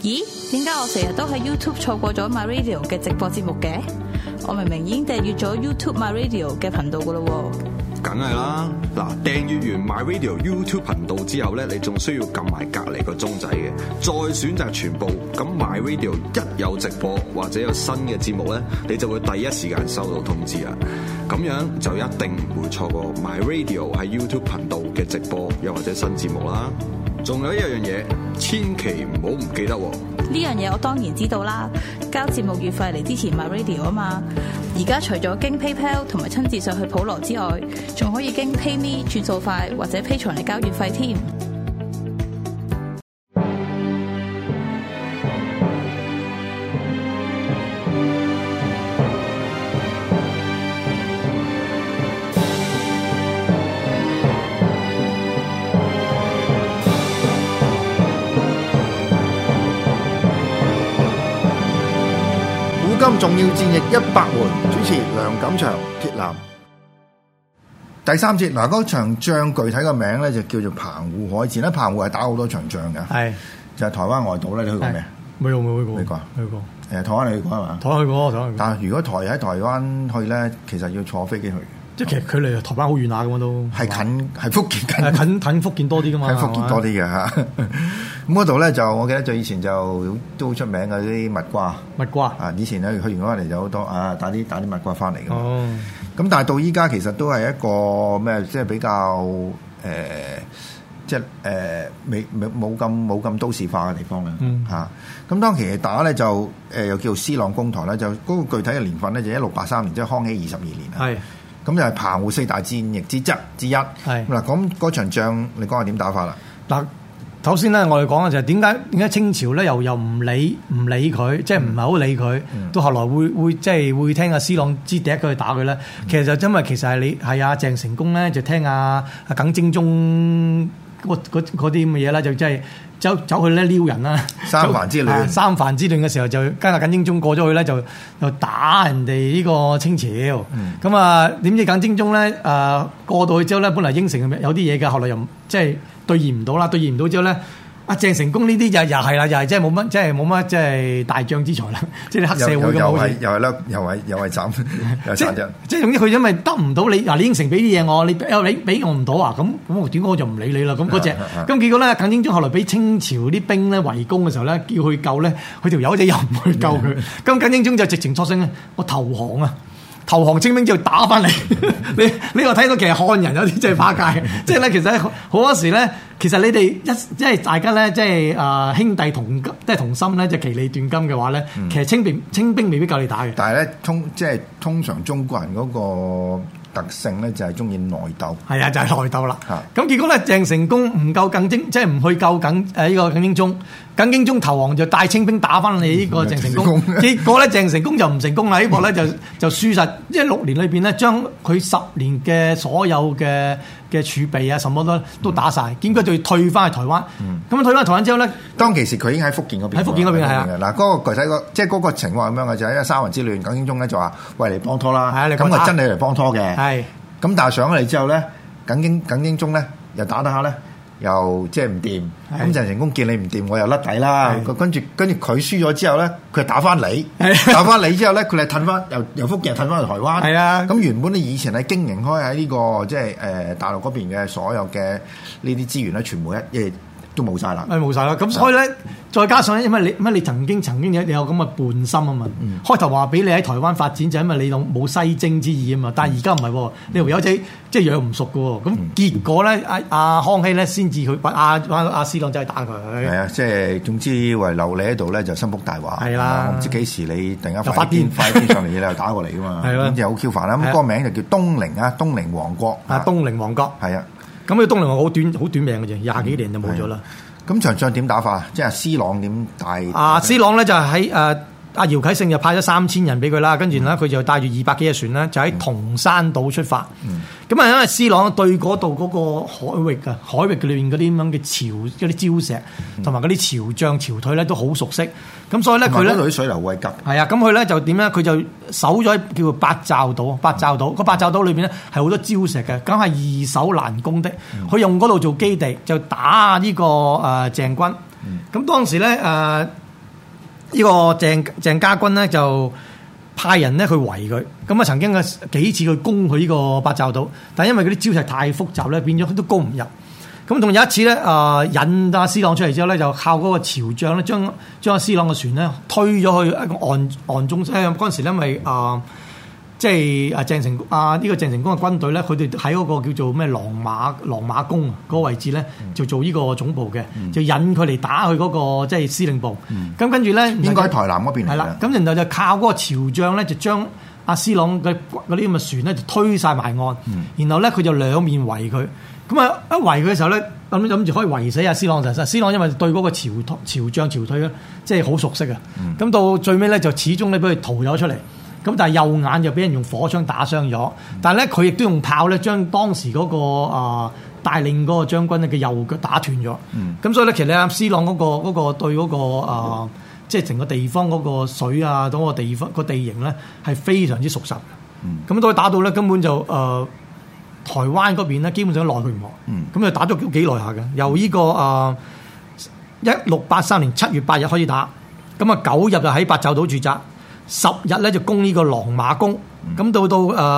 咦？點解我成日都喺 YouTube 錯過咗 My Radio 嘅直播節目嘅？我明明已經訂閱咗 YouTube My Radio 嘅頻道噶咯喎。 梗係啦，嗱，訂閱完 My Radio YouTube 頻道之後咧，你仲需要撳埋隔離個鐘仔嘅，再選擇全部。咁 My Radio 一有直播或者有新嘅節目咧，你就會第一時間收到通知啦。咁樣就一定唔會錯過 My Radio 喺 YouTube 頻道嘅直播又或者新節目啦。仲有一樣嘢，千祈唔好唔記得喎。 呢樣嘢我當然知道啦，交節目月費嚟支持 My Radio 啊嘛。而家除咗經 PayPal 同埋親自上去普羅之外，仲可以經 PayMe 轉數快或者 Patreon嚟交月費添。 今重要戰役100回，主持梁錦祥、鐵男。第三節嗱，嗰場仗具體個名咧就叫做澎湖海戰啦。澎湖係打好多場仗嘅，係就係台灣外島咧。你去過未？ 冇去過。 去過。台灣你去過係嘛？ 台灣去過。 但係如果喺台灣去咧，其其實要坐飛機去。 即係其實距離台灣好遠下㗎嘛都。係近，係福建近福建多啲㗎嘛。 喺福建多啲嘅嚇。咁嗰度咧就我記得最以前就都好出名嘅啲蜜瓜。蜜瓜啊！以前咧去完嗰嚟就好多打啲蜜瓜翻嚟嘅。哦。咁但係到依家其實都係一個咩？即係比較即係冇咁都市化嘅地方嘅嚇。咁當其打咧就又叫做施琅攻台咧，就嗰個具體嘅年份咧就1683年，即係康熙22年啊。係。咁就係澎湖4大戰役之一。係嗱，咁嗰場仗你講下點打法啦？嗱， 首先咧，我哋講嘅就係點解清朝咧又唔理佢，即係唔係好理佢，到後來會即係會聽阿施琅之笛佢去打佢咧。其實就因為其實係阿鄭成功咧就聽阿耿精忠嗰啲咁嘅嘢啦，就即係走去咧撩人啦。三藩之亂嘅時候就跟阿耿精忠過咗去咧，就打人哋呢個清朝。咁啊點知耿精忠咧過到去之後咧，本來應承有啲嘢嘅，後來又即係兌現唔到啦。兌現唔到之後咧，阿鄭成功呢啲又係啦，又係即係冇乜即係大將之才啦，即係黑社會咁好似。又係斬即係總之佢因為得唔到你嗱，你應承俾啲嘢我，你俾我唔到啊，咁點解我就唔理你啦？咁嗰隻咁結果咧，耿精忠後來俾清朝啲兵咧圍攻嘅時候咧，叫佢救咧，佢條友仔又唔去救佢，咁耿精忠就直情作聲咧，我投降啊！投降清兵之後打翻嚟，你又睇到其實漢人有啲真係怕界，即係咧其實好多時咧，其實你哋即係大家咧，即係兄弟同心咧，即係其利斷金嘅話咧，其實清兵未必夠你打嘅。但係咧通常中國人嗰個特性咧就係中意內鬥。係啊，就係內鬥啦。咁結果咧，鄭成功唔夠即係唔去救呢個耿精忠。耿精忠投降就帶清兵打翻你呢個鄭成功，結果咧鄭成功就唔成功啦！呢個咧就輸實，即係6年裏邊咧將佢10年嘅所有嘅儲備啊，什麼都打晒，結果就要退翻去台灣。咁退翻台灣之後咧，當其時佢已經喺福建嗰邊。喺福建嗰邊係啊。嗱，嗰個具體即係嗰個情況係咁樣嘅，就係因為三藩之亂，耿精忠咧就話喂嚟幫拖啦。係啊，咁啊真係嚟幫拖嘅。係。咁但係上咗嚟之後咧，耿精忠咧又打下咧。又即係唔掂，咁鄭成功見你唔掂，我又甩底啦。跟住佢輸咗之後咧，佢打翻你，打翻你之後咧，佢係褪翻由福建褪翻去台灣。係啊，咁原本你以前係經營開喺呢個即係大陸嗰邊嘅所有嘅呢啲資源咧，全部都冇晒啦，冇晒啦。咁所以咧，再加上因為你曾經有咁嘅叛心啊嘛。開頭話俾你喺台灣發展就因為你冇西征之意啊嘛。但係而家唔係喎，你條友仔即係養唔熟嘅喎。咁結果咧，阿康熙咧先至去阿施琅走去打佢。係啊，即係總之遺留你喺度咧就心腹大患。係啦，我唔知幾時你突然間快啲上嚟，你又打過嚟㗎嘛。係咯，咁就好 Q 煩啦。咁個名就叫東寧啊，東寧王國。東寧王國係啊。咁佢東寧王好短命嘅啫，20幾年就冇咗啦。咁場仗點打法？即係施琅點帶？施琅咧就喺阿姚啟聖就派咗3000人俾佢啦，跟住咧佢就帶住200幾隻船咧，就喺銅山島出發。咁啊，因為施琅對嗰度嗰個海域裏面嗰啲咁樣嘅嗰啲礁石，同埋嗰啲潮漲潮退咧都好熟悉。咁所以咧佢咧啲水流位急。係啊，咁佢咧就點咧？佢就守咗叫做八爪島。八爪島裏邊咧係好多礁石嘅，梗係易守難攻的。佢用嗰度做基地，就打呢個鄭軍。咁當時咧呢個鄭家軍咧就派人咧去圍佢，咁啊曾經嘅幾次去攻佢呢個八爪島，但係因為嗰啲礁石太複雜咧，變咗都攻唔入。咁仲有一次咧，引阿施琅出嚟之後咧，就靠嗰個潮漲咧，將阿施琅嘅船咧推咗去一個岸中。嗰陣時咧，因為即係呢個鄭成功嘅軍隊咧，佢哋喺嗰個叫做咩狼馬宮嗰個位置咧，就做呢個總部嘅，就引佢嚟打去嗰個即係司令部。咁跟住咧， 應該喺台南嗰邊嚟嘅。 係啦，咁然後就靠嗰個潮漲咧，就將阿施琅嘅嗰啲咁嘅船咧，就推晒埋岸。然後咧，佢就兩面圍佢。咁啊，一圍佢嘅時候咧，諗住可以圍死阿施琅。就施琅因為對嗰個潮漲潮退咧，即係好熟悉啊。咁到最尾咧，就始終咧俾佢逃咗出嚟。咁但係右眼就俾人用火槍打傷咗，但係咧佢亦都用炮咧將當時嗰個帶領嗰個將軍咧嘅右腳打斷咗。咁所以咧，其實阿施琅嗰個對嗰個即係成個地方嗰個水啊，嗰個地方個地形咧係非常之熟悉。咁到佢打到咧，根本就台灣嗰邊咧基本上奈佢唔何。咁就打咗幾耐下嘅，由呢個1683年7月8日開始打，咁啊9日就喺八爪島駐紮。10日咧就攻呢個狼馬宮，咁到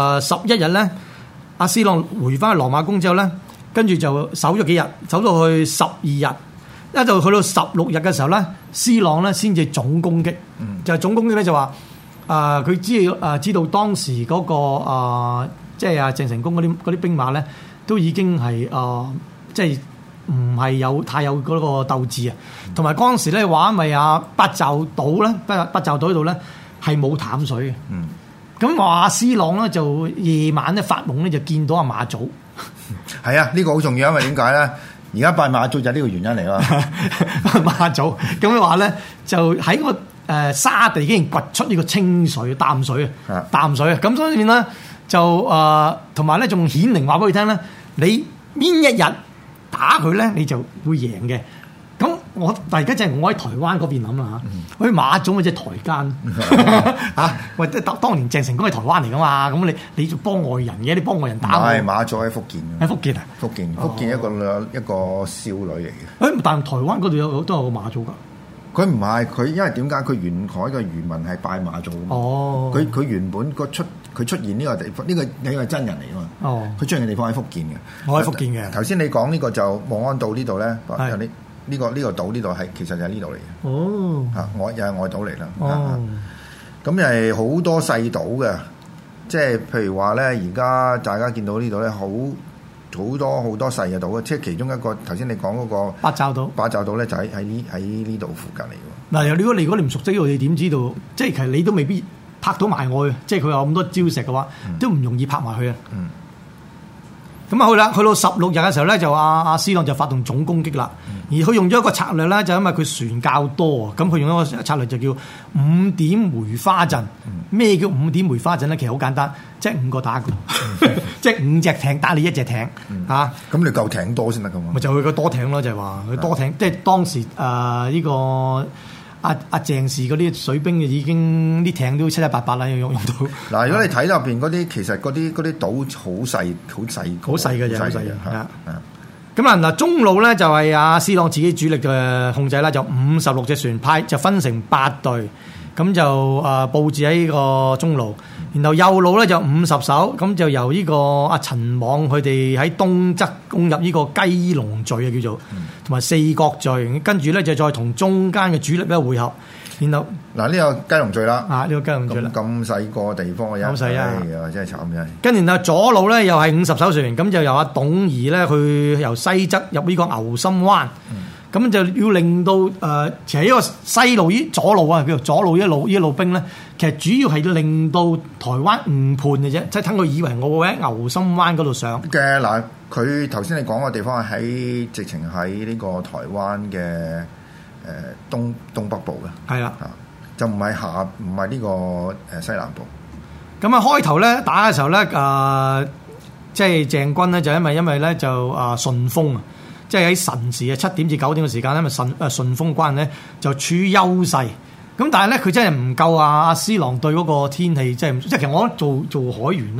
11日咧，阿施琅回翻去狼馬宮之後咧，跟住就守咗幾日，守到去12日，一就去到16日嘅時候咧，施琅咧先至總攻擊，就係總攻擊咧就話佢知道當時嗰個即係阿鄭成功嗰啲兵馬咧，都已經係即係唔係太有嗰個鬥志啊，同埋嗰陣時咧話咪八爪島咧，八爪島嗰度咧。係冇淡水嘅，咁話施琅咧就夜晚咧發夢咧就見到阿馬祖， 係啊，呢個好重要，因為點解咧？而家拜馬祖就係呢個原因嚟啊！ 馬祖咁樣話咧，就喺個沙地竟然掘出呢個清水淡水啊，淡水啊！咁所以咧就同埋咧仲顯靈話俾佢聽咧，你邊一日打佢咧，你就會贏嘅。咁但係而家就係我喺台灣嗰邊諗啦嚇，嗰啲馬祖咪即係台奸嚇，喂！當年鄭成功係台灣嚟噶嘛，咁你就幫外人嘅，你幫外人打我。唔係馬祖喺福建。 喺福建啊？ 福建一個少女嚟嘅。 但係台灣嗰度都有個馬祖㗎。 佢唔係佢，因為點解佢沿海嘅漁民係拜馬祖？佢原本佢出現呢個地方，呢個係真人嚟㗎嘛。佢出現嘅地方喺福建嘅。我喺福建嘅。頭先你講呢個就望安島呢度咧，有啲。呢個島呢度係其實就係呢度嚟嘅，又係外島嚟啦。咁係好多細島嘅，即係譬如話咧，而家大家見到呢度咧，好多細嘅島，即係其中一個頭先你講嗰個八爪島咧，就喺呢度附近嚟嘅。 嗱，如果你唔熟悉呢度，你點知道？即係其實你都未必拍到埋我嘅，即係佢有咁多礁石嘅話，都唔容易拍埋去啊。咁啊去到16日嘅時候咧，就阿施琅就發動總攻擊啦。而佢用咗一個策略咧，就因為佢船較多啊，咁佢用一個策略就叫5點梅花陣。咩叫5點梅花陣咧？其實好簡單，即係5個打一個，即係5隻艇打你1隻艇嚇。咁你夠艇多先得噶嘛？咪就佢個多艇咯，就係話佢多艇，即係當時呢個。阿鄭氏嗰啲水兵已經啲艇都七七八八啦，用到。嗱，如果你睇入邊嗰啲，其實嗰啲島好細嘅啫，好細嘅。咁嗱，中路咧就係阿施琅自己主力嘅控制啦，就56隻船派，就分成8隊，咁就佈置喺呢個中路。然後右路咧就50艘，咁就由呢個阿陳網佢哋喺東側攻入呢個雞籠嶼啊，叫做同埋四角嶼，跟住咧就再同中間嘅主力咧會合。然後嗱，呢個雞籠嶼啦，呢個雞籠嶼啦，咁細個地方嘅，好細啊，真係慘真係。跟住然後左路咧又係50艘船，咁就由阿董儀咧去由西側入呢個牛心灣。咁就要令到其實呢個西路左路啊，叫做左路一路兵咧，其實主要係令到台灣誤判嘅啫，即係等佢以為我會喺牛心灣嗰度上嘅。嗱，佢頭先你講嘅地方係喺直情喺呢個台灣嘅東北部嘅，係啦，就唔係呢個西南部。咁啊開頭咧打嘅時候咧，即係鄭軍咧就因為咧就順風啊。即係喺晨時7點至9點嘅時間咧，咪順風關咧就處於優勢。咁但係咧，佢真係唔夠阿施琅對嗰個天氣，即係其實我覺得做海員咧，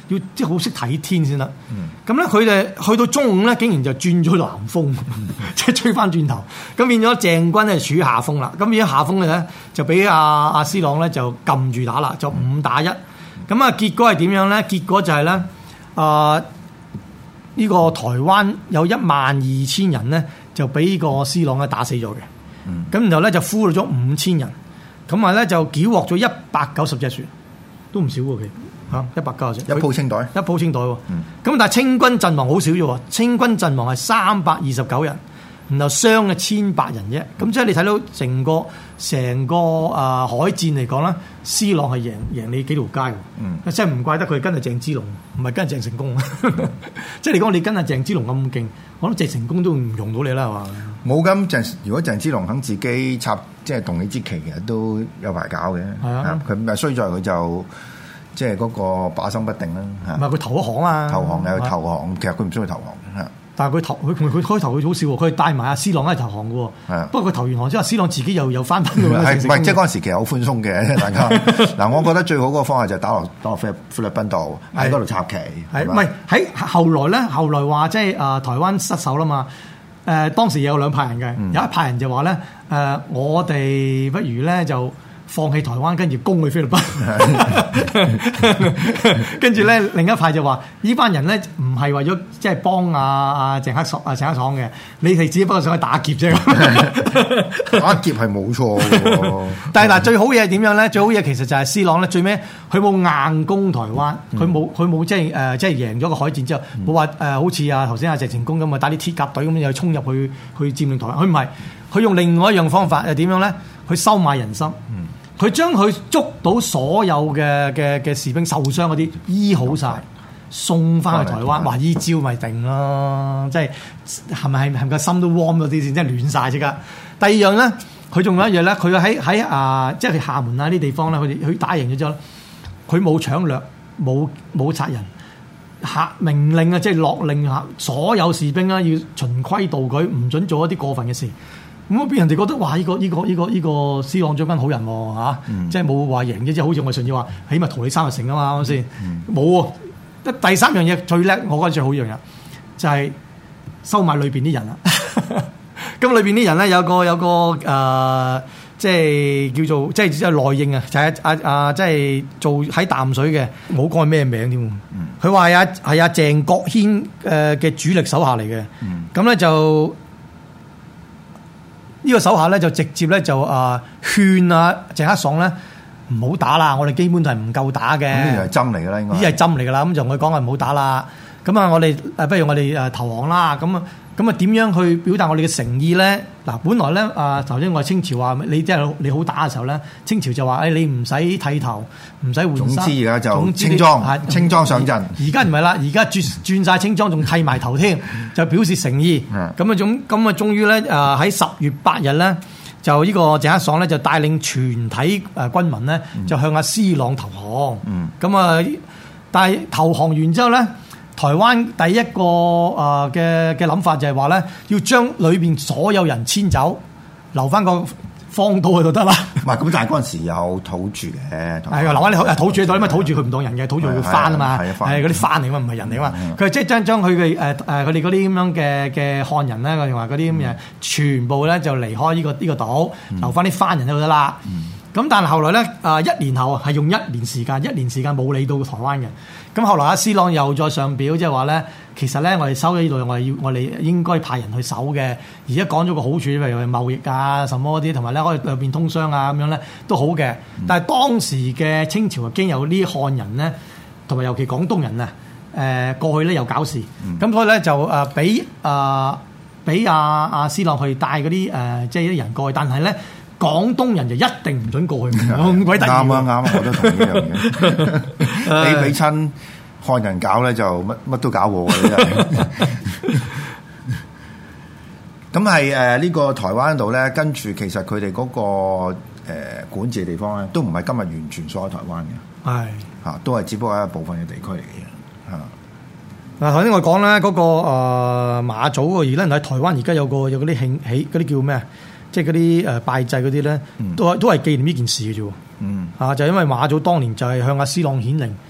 要即係好識睇天先得。咁咧佢哋去到中午咧，竟然就轉咗南風，即係吹翻轉頭。咁變咗鄭軍咧處於下風啦。咁變咗下風嘅咧，就俾阿施琅咧就撳住打啦，就5打1。咁啊結果係點樣咧？結果就係咧呢個台灣有12000人咧，就俾呢個施琅咧打死咗嘅。咁然後咧就俘虜咗5000人，咁啊咧就繳獲咗190隻船，都唔少喎，其實190隻。 一鋪清袋， 一鋪清袋喎。咁但係清軍陣亡好少啫喎，清軍陣亡係329人，然後傷嘅1800人啫。咁即係你睇到成個海戰嚟講啦，施琅係贏你幾條街嘅。即係唔怪得佢跟阿鄭芝龍，唔係跟阿鄭成功。即係你講你跟阿鄭芝龍咁勁，我諗鄭成功都唔用到你啦，係嘛？ 冇咁如果鄭芝龍肯自己插，即係動起之旗，其實都有排搞嘅。係啊，佢咪衰在佢就即係嗰個把心不定啦。 唔係佢投降啊！ 投降有投降，其實佢唔需要投降嘅。 但係佢開頭佢好笑喎，佢帶埋阿施琅一齊投降嘅喎。不過佢投完降之後，施琅自己又翻返去。唔係即係嗰陣時其實好寬鬆嘅，大家嗱，我覺得最好嗰個方法就係打落菲律賓度喺嗰度插旗。係唔係喺後來咧？後來話即係台灣失守啦嘛。當時有2派人嘅，有一派人就話咧我哋不如咧就放棄台灣，跟住攻去菲律賓。跟住咧另一派就話：呢班人咧唔係為咗即係幫鄭克爽嘅，你哋只不過想去打劫啫。 打劫係冇錯嘅。 但係嗱，最好嘢係點樣咧？最好嘢其實就係施琅咧，最尾佢冇硬攻台灣，佢冇即係贏咗個海戰之後，冇話好似頭先鄭成功咁啊，打啲鐵甲隊咁又衝入去佔領台灣。佢唔係，佢用另外一樣方法係點樣咧？佢收買人心。佢將佢捉到所有嘅士兵受傷嗰啲醫好晒，送翻去台灣，話依招咪定咯，即係係咪個心都 warm 咗啲先，即係暖晒即刻。第二樣咧，佢仲有一樣咧，佢喺即係廈門啊啲地方咧，佢打贏咗之後，佢冇搶掠，冇殺人，命令啊，即係落令下所有士兵啦要循規蹈矩，唔准做一啲過分嘅事。咁俾人哋覺得哇！呢個施琅將軍好人喎，即係冇話贏啫，即係好似我上次話，起碼同你3日成啊嘛，啱先？冇喎。第3樣嘢最叻，我覺得最好一樣嘢就係收買裏邊啲人啦。咁裏邊啲人咧有個即係叫做即係內應啊，就係即係做喺淡水嘅，冇講咩名添。佢話係阿鄭國軒嘅主力手下嚟嘅。咁咧就。呢個手下咧就直接咧就勸鄭克爽咧唔好打啦，我哋基本係唔夠打嘅。呢啲係針嚟㗎啦，應該呢啲係針嚟㗎啦。咁就同佢講話唔好打啦。咁我哋不如我哋投降啦。咁點樣去表達我哋嘅誠意咧？嗱，本來咧頭先我清朝話你即係你好打嘅時候咧，清朝就話你唔使剃頭，唔使換衫。總之而家就清裝上陣。而家唔係啦，而家轉晒清裝，仲剃埋頭添，就表示誠意。咁終於咧喺10月8日咧，就呢個鄭克爽咧就帶領全體軍民咧就向阿施琅投降。但係投降完之後咧。台灣第一個嘅諗法就係話咧，要將裏邊所有人遷走，留翻個荒島去就得啦。 唔係咁，但係嗰陣時有土著嘅， 係留翻你土著喺度，因為土著佢唔當人嘅，土著會翻啊嘛，係嗰啲翻嚟嘛，唔係人嚟嘛。佢即係將佢嘅佢哋嗰啲咁樣嘅漢人咧，佢話嗰啲咁嘅全部咧就離開呢個島，留翻啲番人喺度得啦。咁但係後來咧，1年後係用1年時間冇理到台灣嘅。咁後來阿施琅又再上表，即係話咧，其實咧我哋收咗呢度，我哋應該派人去守嘅。而家講咗個好處，譬如貿易啊、什麼嗰啲，同埋咧可以兩邊通商啊咁樣咧都好嘅。但係當時嘅清朝已經有呢漢人咧，同埋尤其廣東人啊，過去咧又搞事，咁所以咧就俾阿施琅去帶嗰啲即係啲人過去，但係咧。廣東人就一定唔准過去，咁鬼得意。啱啊，我都同意呢樣嘢。你俾親漢人搞咧，就乜都搞過嘅真係。 咁係呢個台灣度咧，跟住其實佢哋嗰個管治嘅地方咧，都唔係今日完全所有台灣嘅。係都係只不過係一部分嘅地區嚟嘅。 嗱，頭先我講咧嗰個馬祖而家喺台灣而家有嗰啲慶喜嗰啲叫咩啊？即係嗰啲拜祭嗰啲咧，都係紀念呢件事嘅啫。就因為馬祖當年就係向阿施琅顯靈，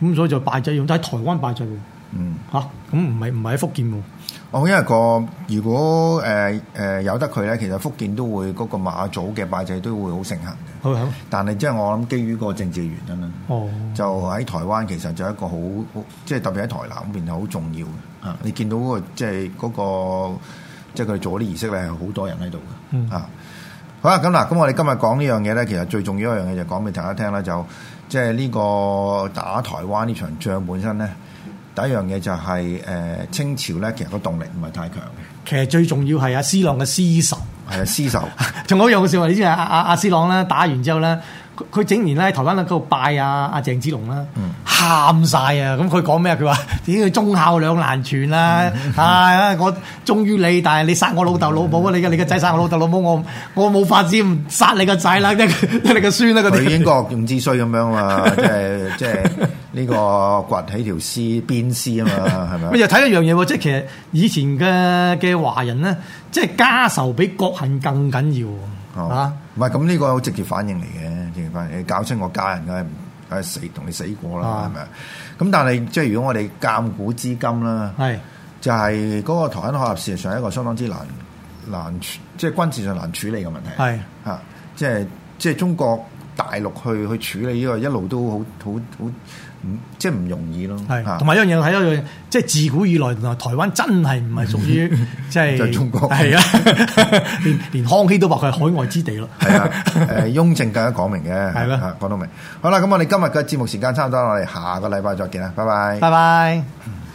咁所以就拜祭用，但係台灣拜祭喎。咁唔係喺福建喎。 因為如果由得佢咧，其實福建都會嗰個馬祖嘅拜祭都會好盛行嘅。但係即係我諗基於個政治原因啦。就喺台灣其實就一個好即係特別喺台南嗰邊係好重要嘅。你見到嗰個即係嗰個即係佢哋做嗰啲儀式咧係好多人喺度嘅。好啦，咁我哋今日講呢樣嘢咧，其實最重要一樣嘢就講俾大家聽啦，就即係呢個打台灣呢場仗本身咧。第一樣嘢就係清朝咧，其實個動力唔係太強嘅。 其實最重要係阿施朗嘅私仇， 係啊，私仇。 仲有一樣嘅笑話，你知阿施朗咧打完之後咧，佢整年咧喺台灣嗰度拜阿鄭芝龍啦，喊晒啊！咁佢講咩啊？佢話點解忠孝兩難全啦？我忠於你，但係你殺我老豆老母啊！你個仔殺我老豆老母，我冇法子唔殺你個仔啦，即係你個孫啦嗰啲。 佢英國用之衰咁樣嘛，即係呢個掘起條絲鞭絲啊嘛，係咪？ 又睇一樣嘢喎，即係其實以前嘅華人咧，即係家仇比國恨更緊要。 唔係咁呢個直接反應嚟嘅，直接反應。你搞清我家人梗係死同你死過啦，係咪？咁但係即係如果我哋鑑古知今啦，就係嗰個台灣海峽事實上係一個相當之難即係軍事上難處理嘅問題。即係中國大陸去處理呢個一路都好即係唔容易咯。 同埋一樣嘢睇一樣，即係自古以來台灣真係唔係屬於即係中國。 係啊，連康熙都話佢係海外之地咯。 係啊，雍正更加講明嘅。係咯，講到明。好啦，咁我哋今日嘅節目時間差唔多，我哋下個禮拜再見啦，拜拜。 拜拜。